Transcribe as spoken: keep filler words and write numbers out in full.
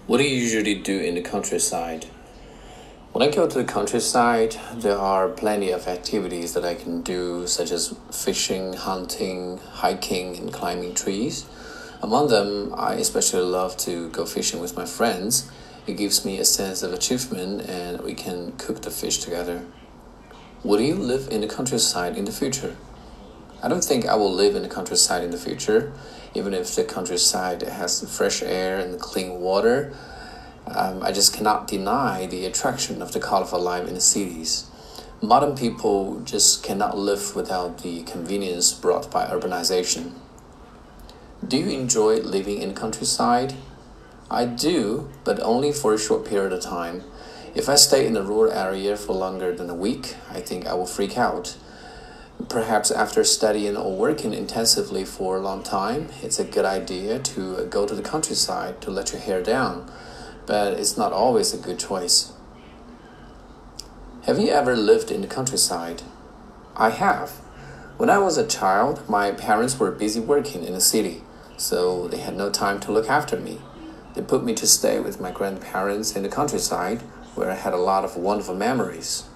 What do you usually do in the countryside? When I go to the countryside, there are plenty of activities that I can do, such as fishing, hunting, hiking, and climbing trees. Among them, I especially love to go fishing with my friends. It gives me a sense of achievement, and we can cook the fish together. Will you live in the countryside in the future? I don't think I will live in the countryside in the future, even if the countryside has fresh air and clean water. Um, I just cannot deny the attraction of the colorful life in the cities. Modern people just cannot live without the convenience brought by urbanization. Do you enjoy living in the countryside? I do, but only for a short period of time. If I stay in a rural area for longer than a week, I think I will freak out. Perhaps after studying or working intensively for a long time, it's a good idea to go to the countryside to let your hair down, but it's not always a good choice. Have you ever lived in the countryside? I have. When I was a child, my parents were busy working in the city, so they had no time to look after me. They put me to stay with my grandparents in the countryside, where I had a lot of wonderful memories.